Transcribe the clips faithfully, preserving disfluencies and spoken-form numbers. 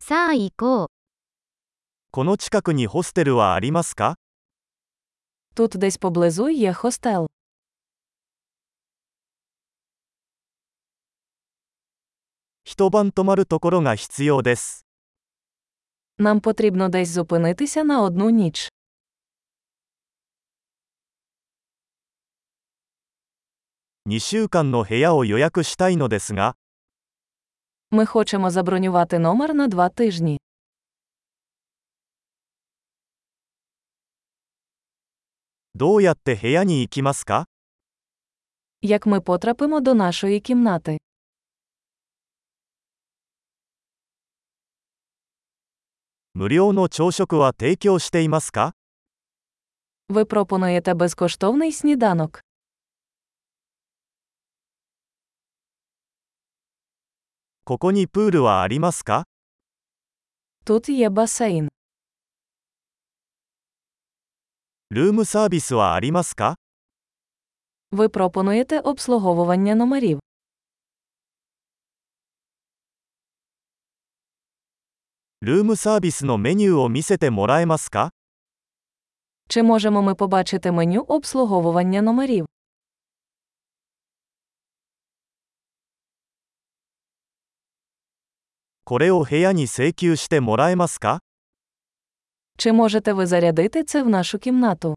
さあ行こう。 この近くにホステルはありますか？ Тут десь поблизу є хостел. 一晩泊まるところが必要です。 Нам потрібно десь зупинитися на одну ніч. にしゅうかんの部屋を予約したいのですが、 Ми хочемо забронювати номер на два тижні. どうやって部屋に行きますか？ Як ми потрапимо до нашої кімнати? 無料の朝食は提供していますか？ Ви пропонуєте безкоштовний сніданок. ここにプールはありますか？ Тут є басейн. ルームサービスはありますか？ Ви пропонуєте обслуговування номерів. ルームサービスのメニューを見せてもらえますか？ Чи можемо ми побачити меню обслуговування номерів? これを部屋に請求してもらえますか？ Чи можете ви зарядити це в нашу кімнату?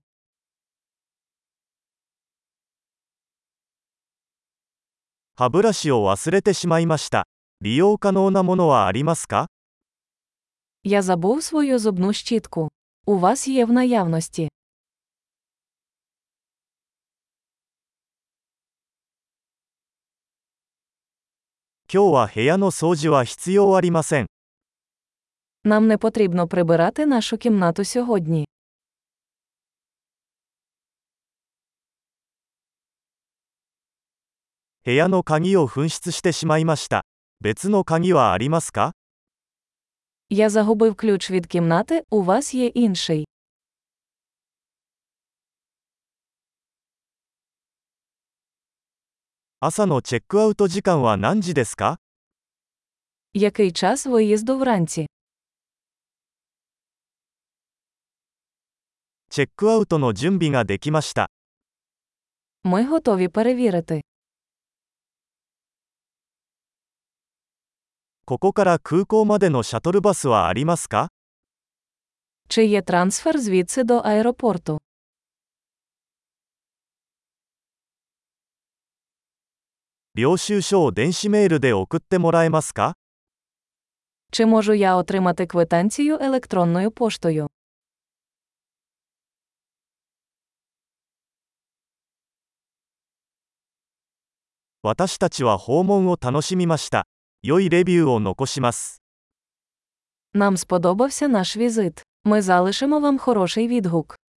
歯ブラシを忘れてしまいました。利用可能なものはありますか？ Я забув свою зубну щітку. У вас є в наявності. 今日は部屋の掃除は必要ありません。 Нам не потрібно прибирати нашу кімнату сьогодні. 部屋の鍵を紛失してしまいました。別の鍵はありますか？ Я загубив ключ від кімнати, у вас є інший. 朝のチェックアウト時間は何時ですか？ Який час виїзду вранці? チェックアウトの準備ができました。 Ми готові перевірити. ここから空港までのシャトルバスはありますか？ Чи є трансфер звідси до аеропорту? 領収書を電子メールで送ってもらえますか？ Чи можу я отримати квитанцію електронною поштою? 私たちは訪問を楽しみました。良いレビューを残します。 Нам сподобався наш візит. Ми залишимо вам хороший відгук.